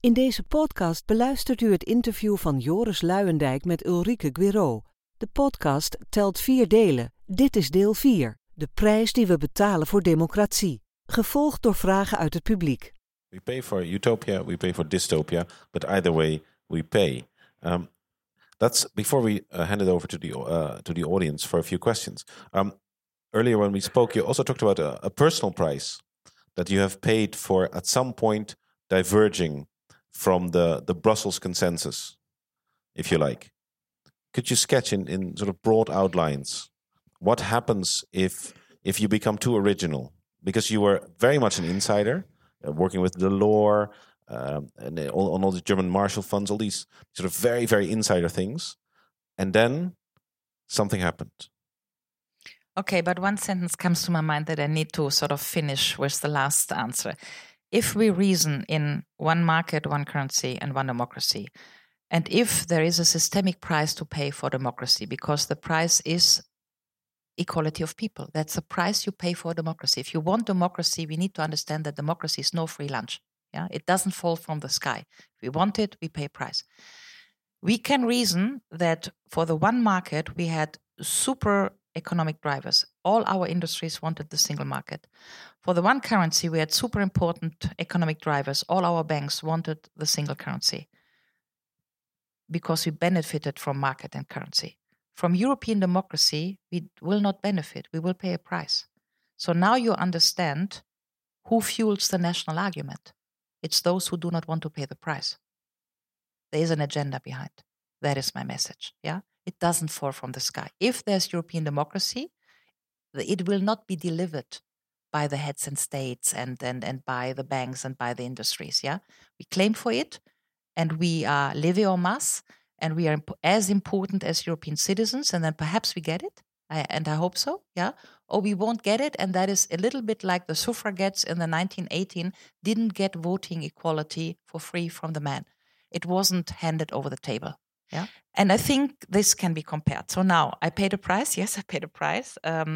In deze podcast beluistert u het interview van Joris Luijendijk met Ulrike Guiraud. De podcast telt 4 delen. Dit is deel 4. De prijs die we betalen voor democratie. Gevolgd door vragen uit het publiek. We pay for utopia, we pay for dystopia, but either way we pay. That's before we hand it over to the audience for a few questions. Earlier when we spoke, you also talked about a personal price that you have paid for at some point diverging from the Brussels consensus, if you like. Could you sketch in sort of broad outlines what happens if you become too original? Because you were very much an insider, working with Delors, and on all the German Marshall Funds, all these sort of very, very insider things. And then something happened. Okay, but one sentence comes to my mind that I need to sort of finish with the last answer. If we reason in one market, one currency, and one democracy, and if there is a systemic price to pay for democracy, because the price is equality of people, that's the price you pay for democracy. If you want democracy, we need to understand that democracy is no free lunch. Yeah, it doesn't fall from the sky. If we want it, we pay a price. We can reason that for the one market, we had super economic drivers. All our industries wanted the single market. For the one currency, we had super important economic drivers. All our banks wanted the single currency because we benefited from market and currency. From European democracy, we will not benefit. We will pay a price. So now you understand who fuels the national argument. It's those who do not want to pay the price. There is an agenda behind. That is my message. Yeah, it doesn't fall from the sky. If there's European democracy, it will not be delivered by the heads and states and by the banks and by the industries. Yeah, we claim for it, and we are levée en masse, and we are as important as European citizens. And then perhaps we get it, and I hope so. Yeah, or we won't get it, and that is a little bit like the suffragettes in the 1918 didn't get voting equality for free from the men. It wasn't handed over the table. Yeah, and I think this can be compared. So now I paid a price. Yes, I paid a price.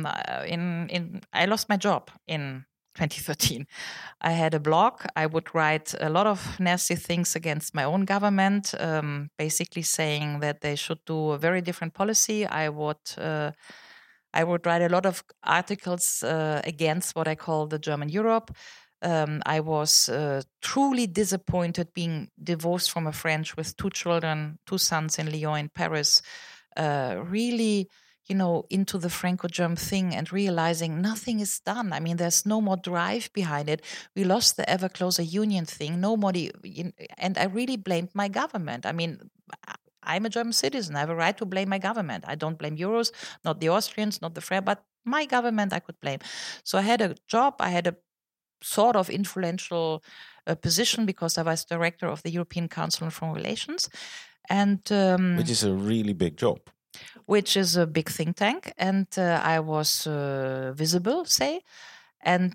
I lost my job in 2013. I had a blog. I would write a lot of nasty things against my own government, basically saying that they should do a very different policy. I would write a lot of articles against what I call the German Europe. I was truly disappointed being divorced from a French with 2 children, 2 sons in Lyon, in Paris, really, into the Franco-German thing and realizing nothing is done. I mean, there's no more drive behind it. We lost the ever closer union thing. Nobody, and I really blamed my government. I mean, I'm a German citizen. I have a right to blame my government. I don't blame Euros, not the Austrians, not the French, but my government I could blame. So I had a job. I had a sort of influential position because I was director of the European Council on Foreign Relations, and which is a really big job. Which is a big think tank, and I was visible, say, and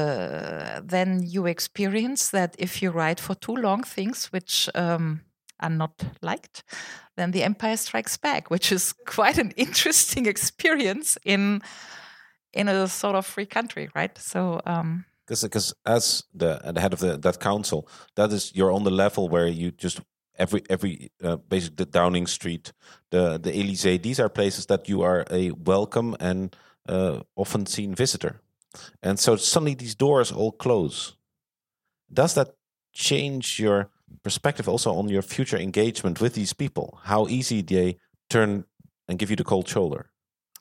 then you experience that if you write for too long things which are not liked, then the empire strikes back, which is quite an interesting experience in a sort of free country, right? So. Because as the head of that council, that is you're on the level where you just every basically the Downing Street, the Élysée, these are places that you are a welcome and often seen visitor, and so suddenly these doors all close. Does that change your perspective also on your future engagement with these people? How easy they turn and give you the cold shoulder?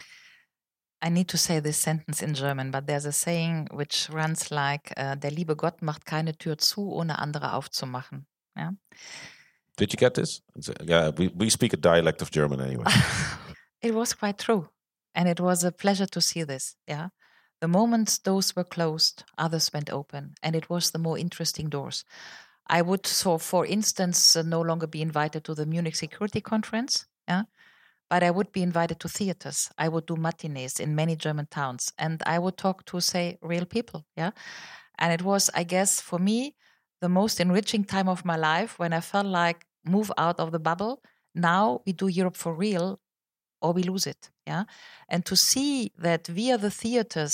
I need to say this sentence in German, but there's a saying which runs like, der liebe Gott macht keine Tür zu, ohne andere aufzumachen. Yeah? Did you get this? Yeah, we speak a dialect of German anyway. It was quite true. And it was a pleasure to see this. Yeah, the moment doors were closed, others went open. And it was the more interesting doors. I would, so for instance, no longer be invited to the Munich Security Conference. Yeah. But I would be invited to theaters. I would do matinees in many German towns. And I would talk to, say, real people. Yeah. And it was, I guess, for me, the most enriching time of my life when I felt like move out of the bubble. Now we do Europe for real or we lose it. Yeah. And to see that via the theaters,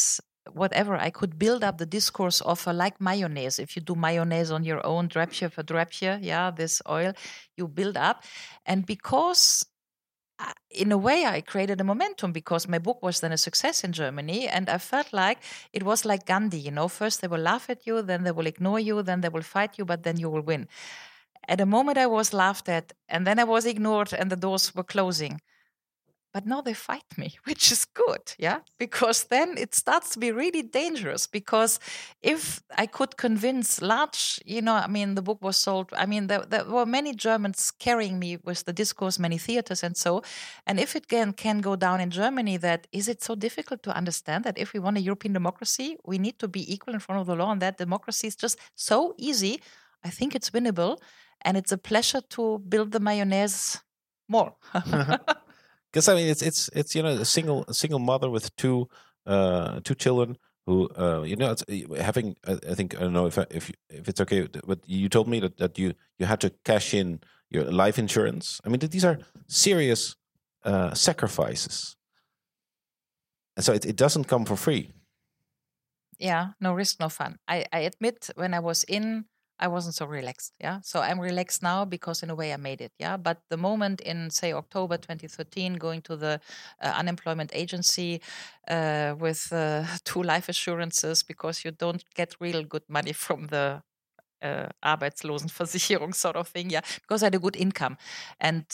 whatever, I could build up the discourse of like mayonnaise. If you do mayonnaise on your own, drapje for drapje, this oil you build up. And because in a way, I created a momentum because my book was then a success in Germany. And I felt like it was like Gandhi, first they will laugh at you, then they will ignore you, then they will fight you, but then you will win. At the moment I was laughed at, and then I was ignored and the doors were closing. But now they fight me, which is good, because then it starts to be really dangerous. Because if I could convince large, the book was sold. There were many Germans carrying me with the discourse, many theaters and so. And if it can go down in Germany, that is it so difficult to understand that if we want a European democracy, we need to be equal in front of the law, and that democracy is just so easy. I think it's winnable, and it's a pleasure to build the mayonnaise more. Because it's a single mother with two children who it's having, I think, I don't know if it's okay, but you told me that you had to cash in your life insurance. These are serious sacrifices, and so it doesn't come for free. Yeah, no risk, no fun. I admit when I was in, I wasn't so relaxed. So I'm relaxed now because in a way I made it. But the moment in, say, October 2013, going to the unemployment agency with 2 life assurances, because you don't get real good money from the Arbeitslosenversicherung sort of thing, because I had a good income. And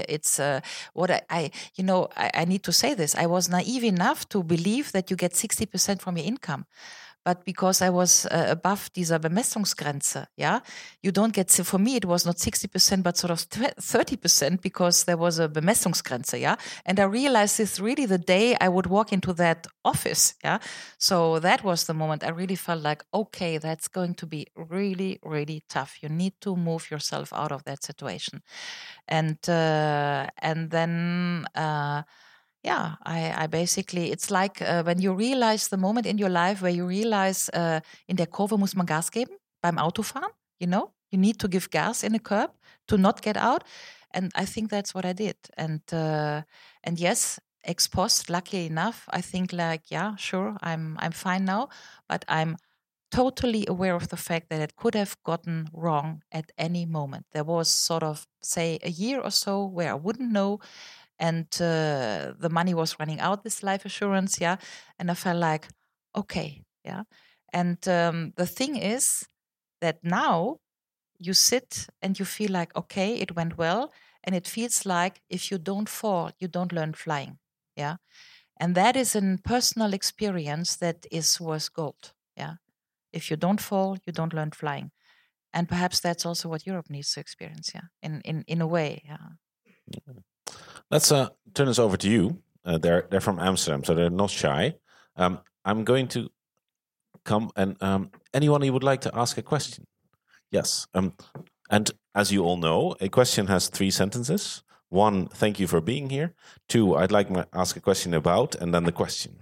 I need to say this. I was naive enough to believe that you get 60% from your income. But because I was above dieser Bemessungsgrenze, you don't get, for me, it was not 60%, but sort of 30% because there was a Bemessungsgrenze, And I realized this really the day I would walk into that office, So that was the moment I really felt like, okay, that's going to be really, really tough. You need to move yourself out of that situation. And then... I basically, it's like when you realize the moment in your life where you realize in der Kurve muss man Gas geben beim Autofahren, you need to give gas in a curb to not get out. And I think that's what I did. And yes, ex post, luckily enough, I think like, sure, I'm fine now, but I'm totally aware of the fact that it could have gotten wrong at any moment. There was sort of, say, a year or so where I wouldn't know. And the money was running out, this life assurance, And I felt like, okay, And the thing is that now you sit and you feel like, okay, it went well. And it feels like if you don't fall, you don't learn flying, And that is a personal experience that is worth gold, If you don't fall, you don't learn flying. And perhaps that's also what Europe needs to experience, in a way, Let's turn this over to you. They're from Amsterdam, so they're not shy. I'm going to come and anyone who would like to ask a question. Yes. And as you all know, a question has 3 sentences. 1, thank you for being here. 2, I'd like to ask a question about, and then the question.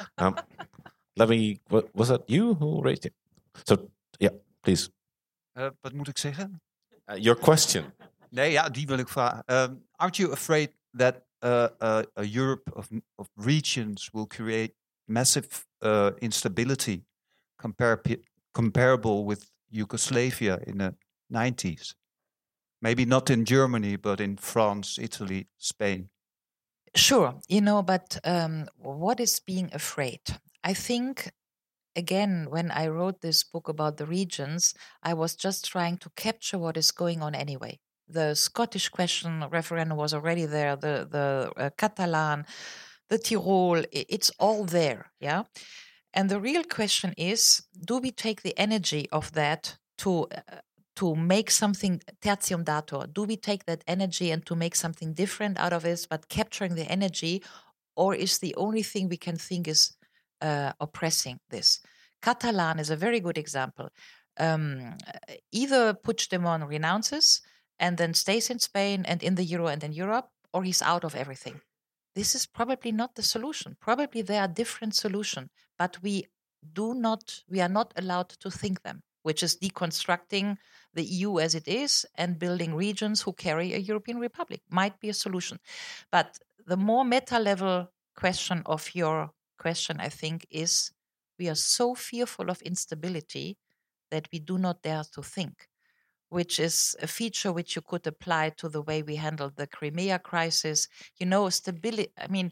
Was that you who raised it? So, please. Wat moet ik zeggen? Your question. Nee, die wil ik vragen. Aren't you afraid that a Europe of regions will create massive instability comparable with Yugoslavia in the 90s? Maybe not in Germany, but in France, Italy, Spain. Sure, but what is being afraid? I think, again, when I wrote this book about the regions, I was just trying to capture what is going on anyway. The Scottish question referendum was already there, the Catalan, the Tyrol, it's all there, And the real question is, do we take the energy of that to make something tertium datur? Do we take that energy and to make something different out of it, but capturing the energy, or is the only thing we can think is oppressing this? Catalan is a very good example. Either Puigdemont renounces and then stays in Spain and in the Euro and in Europe, or he's out of everything. This is probably not the solution. Probably there are different solutions, but we are not allowed to think them, which is deconstructing the EU as it is and building regions who carry a European Republic. Might be a solution. But the more meta-level question of your question, I think, is We are so fearful of instability that we do not dare to think, which is a feature which you could apply to the way we handled the Crimea crisis. Stability,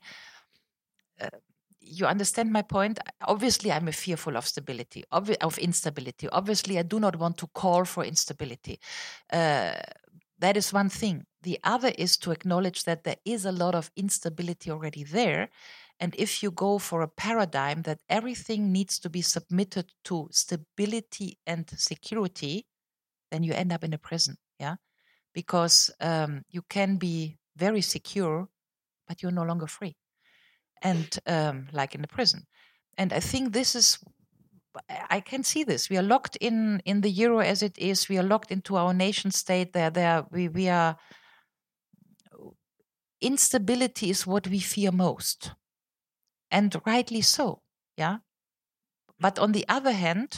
you understand my point? Obviously, I'm fearful of stability, of instability. Obviously, I do not want to call for instability. That is one thing. The other is to acknowledge that there is a lot of instability already there. And if you go for a paradigm that everything needs to be submitted to stability and security, then you end up in a prison, yeah? Because you can be very secure, but you're no longer free. And like in the prison. And I think I can see this. We are locked in the euro as it is. We are locked into our nation state. We are. Instability is what we fear most, and rightly so. Yeah. But on the other hand,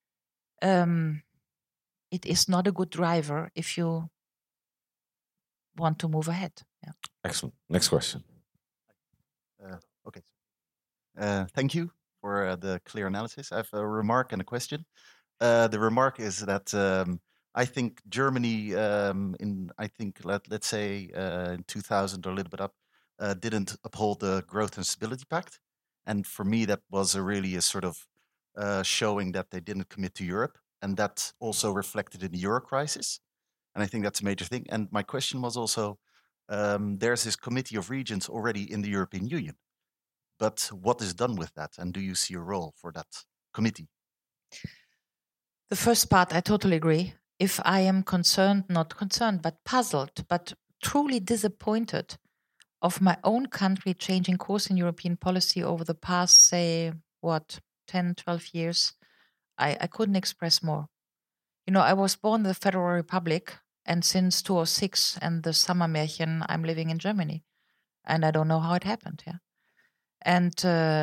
it is not a good driver if you want to move ahead. Yeah. Excellent. Next question. Okay. Thank you for the clear analysis. I have a remark and a question. The remark is that I think Germany, let's say in 2000 or a little bit up, didn't uphold the Growth and Stability Pact, and for me that was really a sort of showing that they didn't commit to Europe, and that also reflected in the euro crisis, and I think that's a major thing. And my question was also, there's this Committee of Regions already in the European Union. But what is done with that? And do you see a role for that committee? The first part, I totally agree. If I am not concerned, but puzzled, but truly disappointed of my own country changing course in European policy over the past, say, 10, 12 years, I couldn't express more. I was born in the Federal Republic, and since 2006 and the Sommermärchen, I'm living in Germany. And I don't know how it happened, yeah. And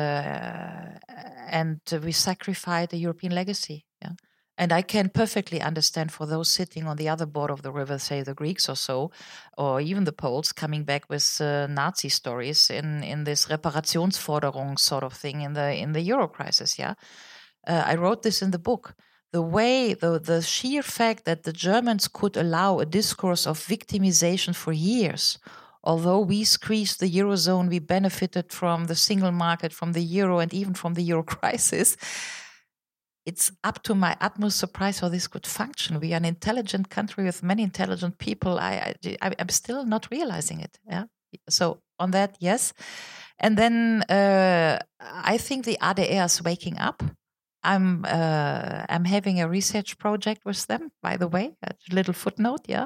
we sacrificed the European legacy. Yeah? And I can perfectly understand for those sitting on the other board of the river, say the Greeks or so, or even the Poles coming back with Nazi stories in this Reparationsforderung sort of thing in the Euro crisis. Yeah, I wrote this in the book. The way, the sheer fact that the Germans could allow a discourse of victimization for years. Although we squeezed the Eurozone, we benefited from the single market, from the euro, and even from the euro crisis. It's up to my utmost surprise how this could function. We are an intelligent country with many intelligent people. I'm still not realizing it. Yeah. So on that, yes. And then I think the ADR is waking up. I'm having a research project with them, by the way, a little footnote, yeah,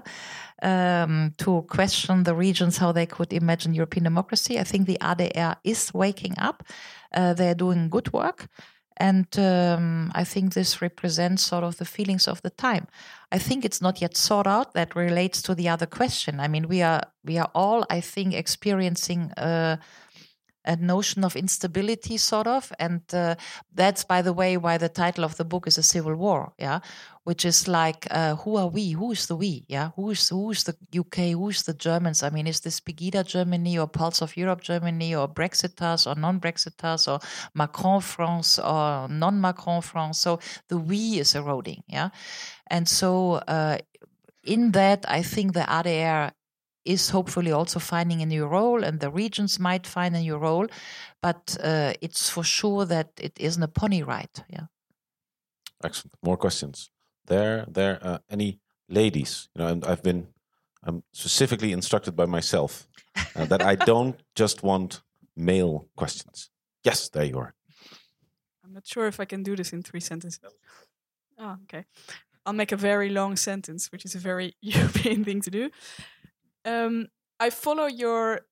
to question the regions how they could imagine European democracy. I think the ADR is waking up. They're doing good work. And I think this represents sort of the feelings of the time. I think it's not yet sorted out. That relates to the other question. I mean, we are all, I think, experiencing a notion of instability, sort of, and that's, by the way, why the title of the book is A Civil War, yeah, which is like, who are we? Who is the we? Yeah, who is the UK? Who is the Germans? I mean, is this Pegida Germany or Pulse of Europe Germany or Brexiters or non-Brexiters or Macron France or non-Macron France? So the we is eroding, yeah, and so in that, I think the ADR is hopefully also finding a new role, and the regions might find a new role, but it's for sure that it isn't a pony ride. Yeah. Excellent. More questions. There, any ladies? And I'm specifically instructed by myself that I don't just want male questions. Yes, there you are. I'm not sure if I can do this in 3 sentences. Oh, okay. I'll make a very long sentence, which is a very European thing to do. I follow your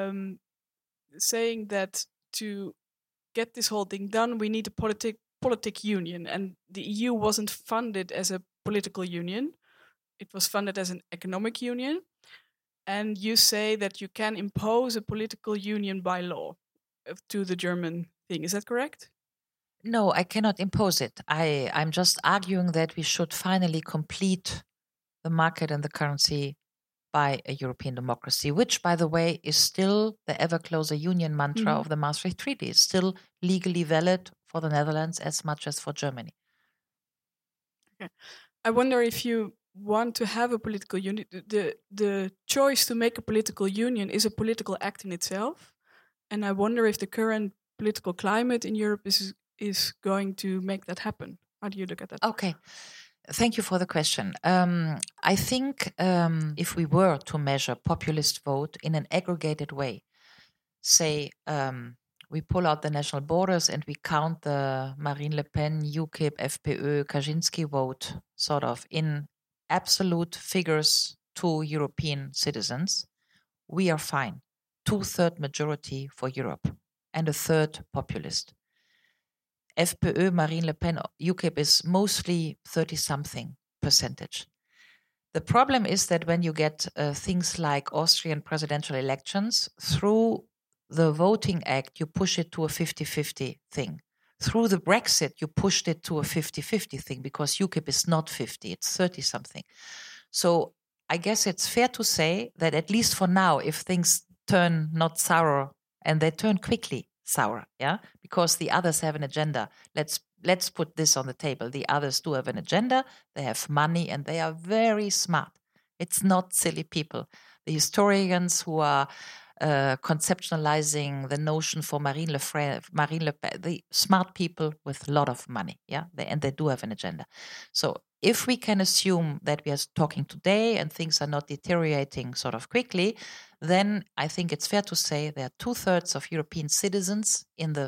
saying that to get this whole thing done, we need a politic union, and the EU wasn't funded as a political union. It was funded as an economic union, and you say that you can impose a political union by law to the German thing. Is that correct? No, I cannot impose it. I'm just arguing that we should finally complete the market and the currency by a European democracy, which, by the way, is still the ever closer union mantra of the Maastricht Treaty. It's still legally valid for the Netherlands as much as for Germany. I wonder if you want to have a political union. The choice to make a political union is a political act in itself. And I wonder if the current political climate in Europe is going to make that happen. How do you look at that? Okay. Thank you for the question. I think if we were to measure populist vote in an aggregated way, say we pull out the national borders and we count the Marine Le Pen, UKIP, FPÖ, Kaczynski vote sort of in absolute figures to European citizens, we are fine. 2/3 majority for Europe and a third populist. FPÖ, Marine Le Pen, UKIP is mostly 30-something percentage. The problem is that when you get things like Austrian presidential elections, through the Voting Act, you push it to a 50-50 thing. Through the Brexit, you pushed it to a 50-50 thing because UKIP is not 50, it's 30-something. So I guess it's fair to say that at least for now, if things turn not sour, and they turn quickly sour, yeah, because the others have an agenda. Let's put this on the table. The others do have an agenda. They have money, and they are very smart. It's not silly people. The historians who are conceptualizing the notion for Marine Le Pen, the smart people with a lot of money, yeah, and they do have an agenda. So if we can assume that we are talking today and things are not deteriorating sort of quickly, then I think it's fair to say there are 2/3 of European citizens in the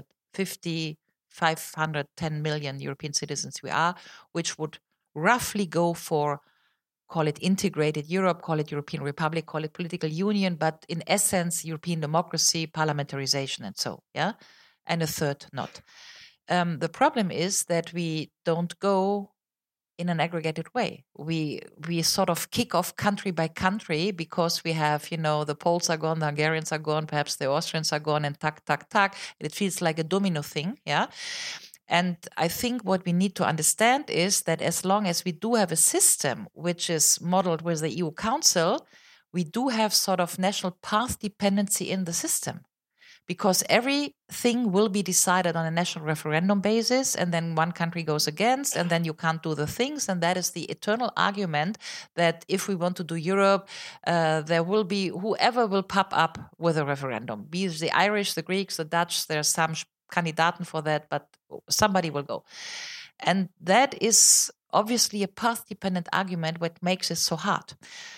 510 million European citizens we are, which would roughly go for, call it integrated Europe, call it European Republic, call it political union, but in essence, European democracy, parliamentarization, and so, yeah, and a third not. The problem is that we don't go in an aggregated way. We sort of kick off country by country because we have, the Poles are gone, the Hungarians are gone, perhaps the Austrians are gone, and tuck. It feels like a domino thing, yeah. And I think what we need to understand is that as long as we do have a system which is modeled with the EU Council, we do have sort of national path dependency in the system. Because everything will be decided on a national referendum basis, and then one country goes against, and then you can't do the things. And that is the eternal argument that if we want to do Europe, there will be whoever will pop up with a referendum. Be it the Irish, the Greeks, the Dutch, there are some Kandidaten for that, but somebody will go. And that is obviously a path-dependent argument, what makes it so hard.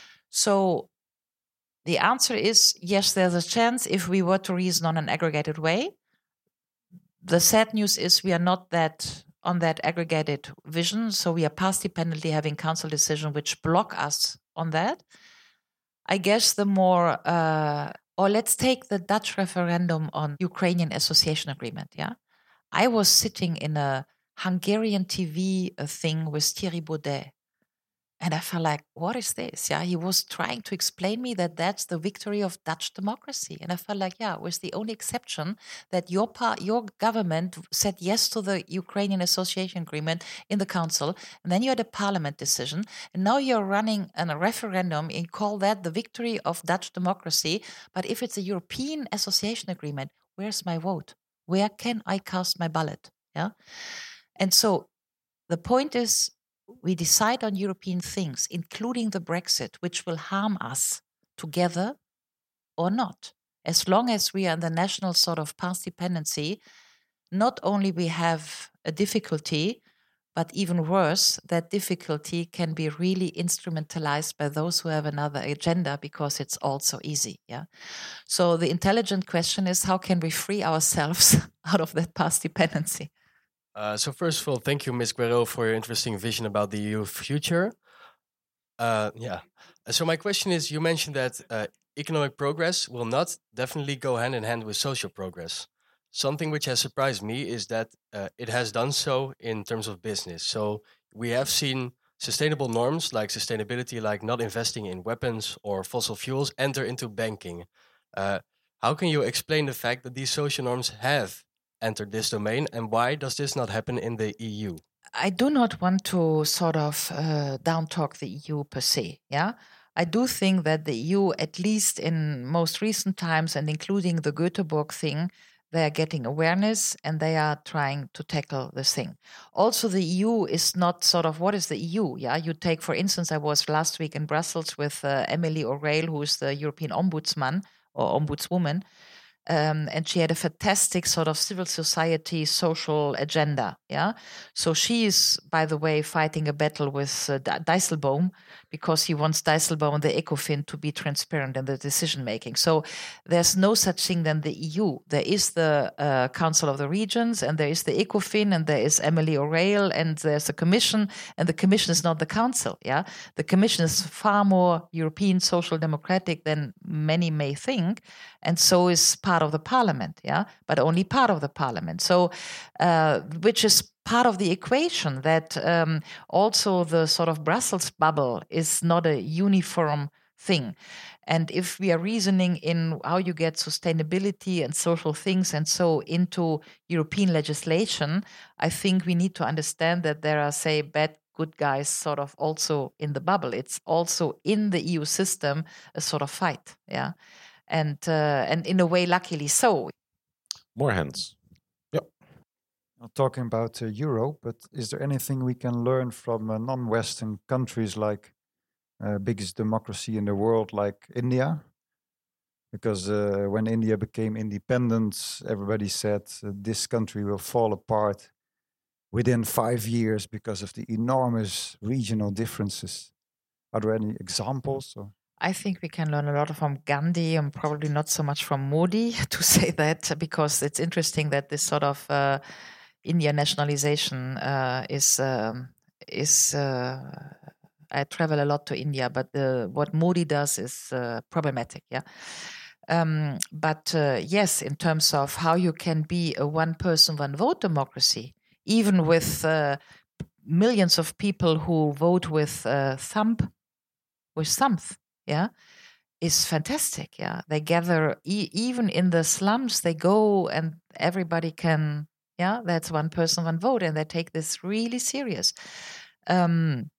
So the answer is, yes, there's a chance if we were to reason on an aggregated way. The sad news is we are not that on that aggregated vision, so we are path-dependently having council decisions which block us on that. I guess the more, or let's take the Dutch referendum on Ukrainian association agreement, yeah? I was sitting in a Hungarian TV thing with Thierry Baudet. And I felt like, what is this? Yeah, he was trying to explain me that that's the victory of Dutch democracy. And I felt like, yeah, with the only exception that your government said yes to the Ukrainian association agreement in the council. And then you had a parliament decision. And now you're running a referendum and call that the victory of Dutch democracy. But if it's a European association agreement, where's my vote? Where can I cast my ballot? Yeah. And so the point is, we decide on European things, including the Brexit, which will harm us together or not. As long as we are in the national sort of path dependency, not only we have a difficulty, but even worse, that difficulty can be really instrumentalized by those who have another agenda because it's also easy. Yeah. So the intelligent question is, how can we free ourselves out of that path dependency? So first of all, thank you, Ms. Guerreau, for your interesting vision about the EU future. So my question is, you mentioned that economic progress will not definitely go hand in hand with social progress. Something which has surprised me is that it has done so in terms of business. So we have seen sustainable norms like sustainability, like not investing in weapons or fossil fuels, enter into banking. How can you explain the fact that these social norms have entered this domain, and why does this not happen in the EU? I do not want to sort of down-talk the EU per se, yeah? I do think that the EU, at least in most recent times, and including the Göteborg thing, they are getting awareness and they are trying to tackle this thing. Also, the EU is not sort of, what is the EU? Yeah, you take, for instance, I was last week in Brussels with Emily O'Reilly, who is the European Ombudsman or Ombudswoman. And she had a fantastic sort of civil society social agenda. Yeah, so she is, by the way, fighting a battle with Dijsselbloem because he wants Dijsselbloem and the ECOFIN to be transparent in the decision making. So there's no such thing than the EU. There is the Council of the Regions, and there is the ECOFIN, and there is Emily O'Reilly, and there's the Commission, and the Commission is not the Council. Yeah, the Commission is far more European social democratic than many may think, and so is part of the Parliament. Yeah, but only part of the Parliament. So, which is part of the equation that also the sort of Brussels bubble is not a uniform thing. And if we are reasoning in how you get sustainability and social things and so into European legislation, I think we need to understand that there are, say, bad, good guys sort of also in the bubble. It's also in the EU system a sort of fight, yeah, and in a way, luckily so. More hands. Not talking about Euro, but is there anything we can learn from non-Western countries like biggest democracy in the world, like India? Because when India became independent, everybody said this country will fall apart within 5 years because of the enormous regional differences. Are there any examples? Or? I think we can learn a lot from Gandhi and probably not so much from Modi, to say that, because it's interesting that this sort of India nationalization is. I travel a lot to India, but what Modi does is problematic. Yeah. But yes, in terms of how you can be a one-person, one-vote democracy, even with millions of people who vote with thumbs, yeah, is fantastic. Yeah, they gather even in the slums. They go and everybody can. Yeah, that's one person, one vote, and they take this really serious. And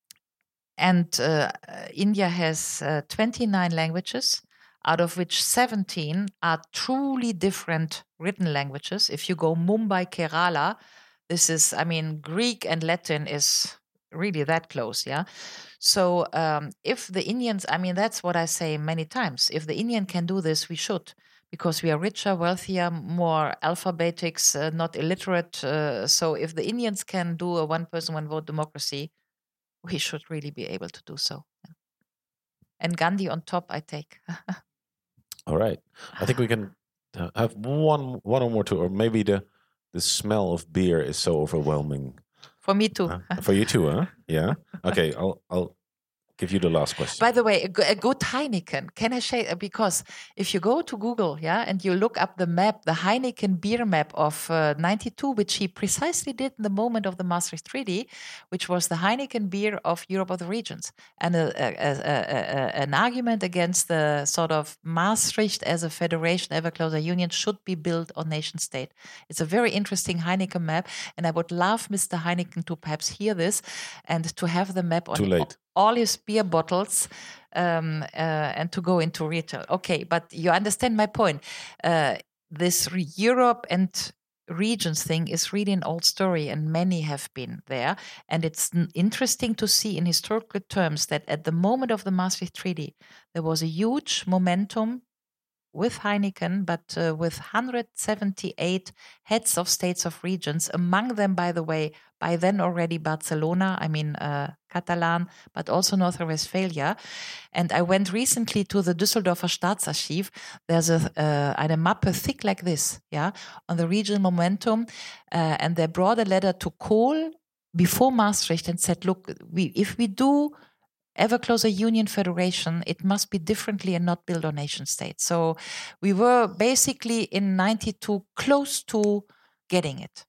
India has 29 languages, out of which 17 are truly different written languages. If you go Mumbai, Kerala, this is, I mean, Greek and Latin is really that close, yeah? So if the Indians, I mean, that's what I say many times. If the Indian can do this, we should, because we are richer, wealthier, more alphabetics, not illiterate. So if the Indians can do a one-person, one-vote democracy, we should really be able to do so. Yeah. And Gandhi on top, I take. All right. I think we can have one or more too, or maybe the smell of beer is so overwhelming. For me too. For you too, huh? Yeah. Okay, I'll give you the last question. By the way, a good Heineken. Can I say, because if you go to Google, yeah, and you look up the map, the Heineken beer map of 92, which he precisely did in the moment of the Maastricht Treaty, which was the Heineken beer of Europe of the regions, and an argument against the sort of Maastricht as a federation, ever closer union, should be built on nation state. It's a very interesting Heineken map, and I would love Mr. Heineken to perhaps hear this and to have the map on Too late. All his beer bottles and to go into retail. Okay, but you understand my point. This Europe and regions thing is really an old story, and many have been there. And it's interesting to see in historical terms that at the moment of the Maastricht Treaty, there was a huge momentum with Heineken, but with 178 heads of states of regions, among them, by the way, by then already Barcelona, I mean Catalan, but also North Rhine-Westphalia. And I went recently to the Düsseldorfer Staatsarchiv. There's eine Mappe thick like this, yeah, on the regional momentum. And they brought a letter to Kohl before Maastricht and said, look, if we do ever closer union federation, it must be differently and not built on nation states. So we were basically in 92 close to getting it.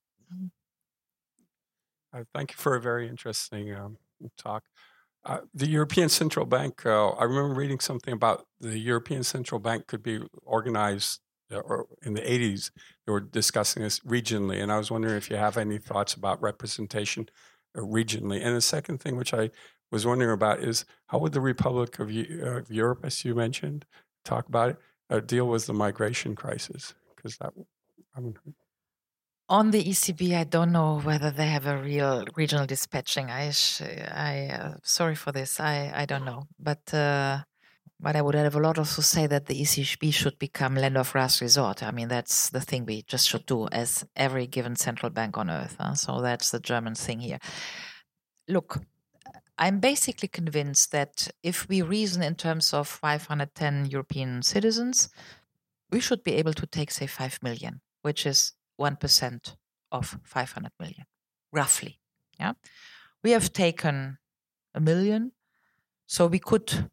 Thank you for a very interesting talk. The European Central Bank, I remember reading something about the European Central Bank could be organized, or in the 80s, they were discussing this regionally, and I was wondering if you have any thoughts about representation regionally. And the second thing, which I was wondering about, is how would the Republic of Europe, as you mentioned, talk about it, deal with the migration crisis? Because that I mean, On the ECB, I don't know whether they have a real regional dispatching. Sorry for this. I don't know, but I would have a lot also say that the ECB should become land of last resort. I mean, that's the thing we just should do as every given central bank on earth. So that's the German thing here. Look, I'm basically convinced that if we reason in terms of 510 European citizens, we should be able to take, say, 5 million, which is 1% of 500 million, roughly. Yeah, we have taken 1 million, so we could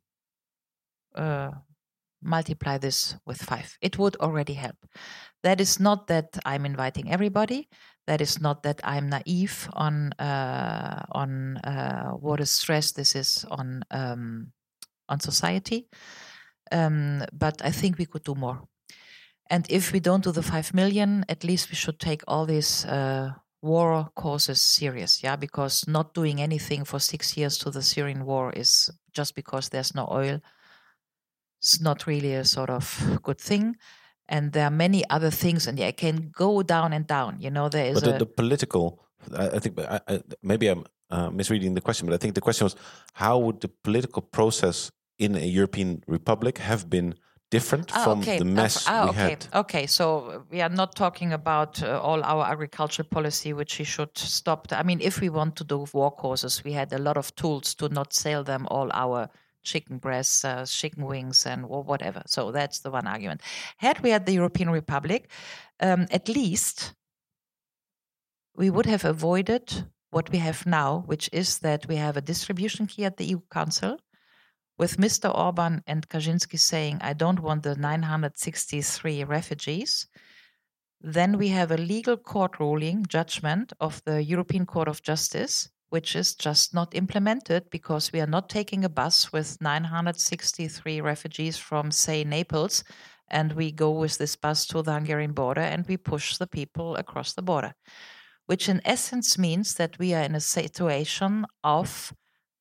multiply this with 5. It would already help. That is not that I'm inviting everybody. That is not that I'm naive on what a stress this is on society. But I think we could do more. And if we don't do the 5 million, at least we should take all these war causes serious, yeah? Because not doing anything for 6 years to the Syrian war is just because there's no oil. It's not really a sort of good thing. And there are many other things, and I can go down and down. You know, there is the political, I think, maybe I'm misreading the question, but I think the question was, how would the political process in a European republic have been different from the mess we had? Okay, so we are not talking about all our agricultural policy, which we should stop. I mean, if we want to do war causes, we had a lot of tools to not sell them all our chicken breasts, chicken wings, and whatever. So that's the one argument. Had we had the European Republic, at least we would have avoided what we have now, which is that we have a distribution key at the EU Council with Mr. Orban and Kaczynski saying, I don't want the 963 refugees. Then we have a legal court ruling, judgment of the European Court of Justice, which is just not implemented because we are not taking a bus with 963 refugees from, say, Naples, and we go with this bus to the Hungarian border and we push the people across the border, which in essence means that we are in a situation of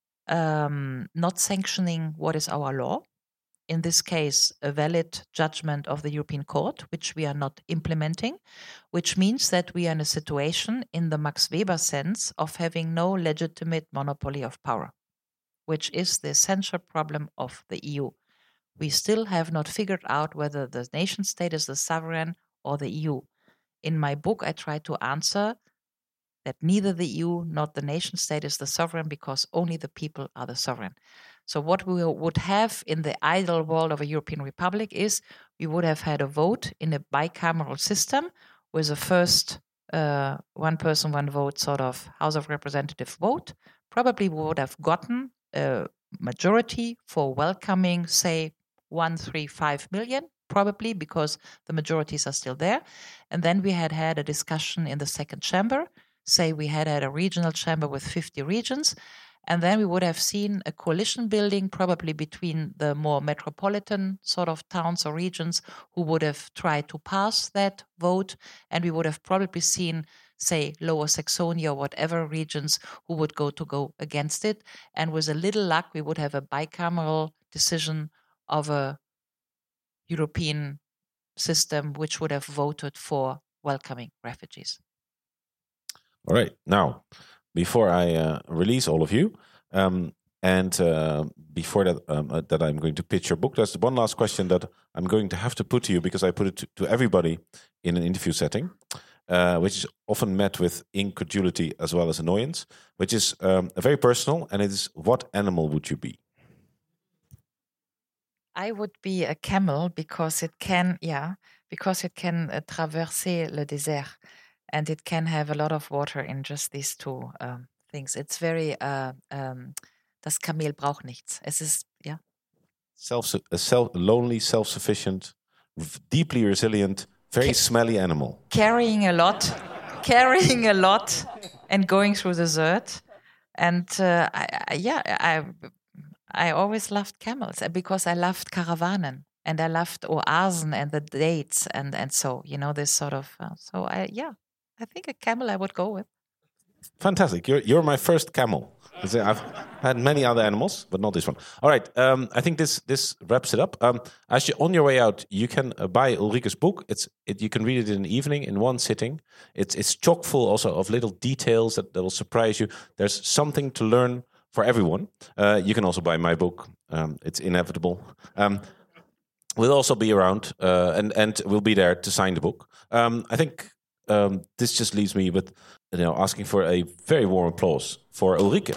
not sanctioning what is our law. In this case, a valid judgment of the European Court, which we are not implementing, which means that we are in a situation in the Max Weber sense of having no legitimate monopoly of power, which is the essential problem of the EU. We still have not figured out whether the nation state is the sovereign or the EU. In my book, I try to answer that neither the EU nor the nation state is the sovereign because only the people are the sovereign. So what we would have in the ideal world of a European Republic is we would have had a vote in a bicameral system with a first one person, one vote sort of House of Representative vote. Probably we would have gotten a majority for welcoming, say, 135 million, probably because the majorities are still there. And then we had a discussion in the second chamber. Say we had a regional chamber with 50 regions. And then we would have seen a coalition building probably between the more metropolitan sort of towns or regions who would have tried to pass that vote. And we would have probably seen, say, Lower Saxony or whatever regions who would go against it. And with a little luck, we would have a bicameral decision of a European system which would have voted for welcoming refugees. All right. Now, before I release all of you, and before that, that I'm going to pitch your book, there's one last question that I'm going to have to put to you because I put it to everybody in an interview setting, which is often met with incredulity as well as annoyance, which is very personal, and it is, what animal would you be? I would be a camel because it can, traverser le désert. And it can have a lot of water in just these two things. It's very, das Kamel braucht nichts. Es ist, lonely, self-sufficient, deeply resilient, very smelly animal. Carrying a lot, and going through the desert. And I always loved camels because I loved Karawanen. And I loved Oasen and the dates and so, this sort of, I think a camel I would go with. Fantastic. You're my first camel. I've had many other animals, but not this one. All right. I think this wraps it up. As you're on your way out, you can buy Ulrike's book. You can read it in an evening, in one sitting. It's chock full also of little details that will surprise you. There's something to learn for everyone. You can also buy my book. It's inevitable. We'll also be around, and we'll be there to sign the book. I think this just leaves me with asking for a very warm applause for Ulrike.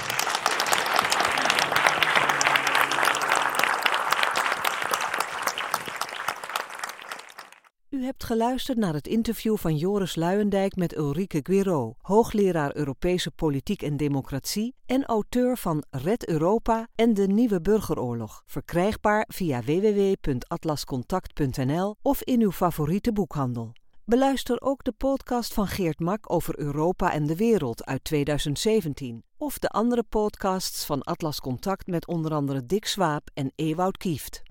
U hebt geluisterd naar het interview van Joris Luijendijk met Ulrike Guiraud, hoogleraar Europese politiek en democratie en auteur van Red Europa en de Nieuwe Burgeroorlog. Verkrijgbaar via www.atlascontact.nl of in uw favoriete boekhandel. Beluister ook de podcast van Geert Mak over Europa en de wereld uit 2017. Of de andere podcasts van Atlas Contact met onder andere Dick Swaap en Ewout Kieft.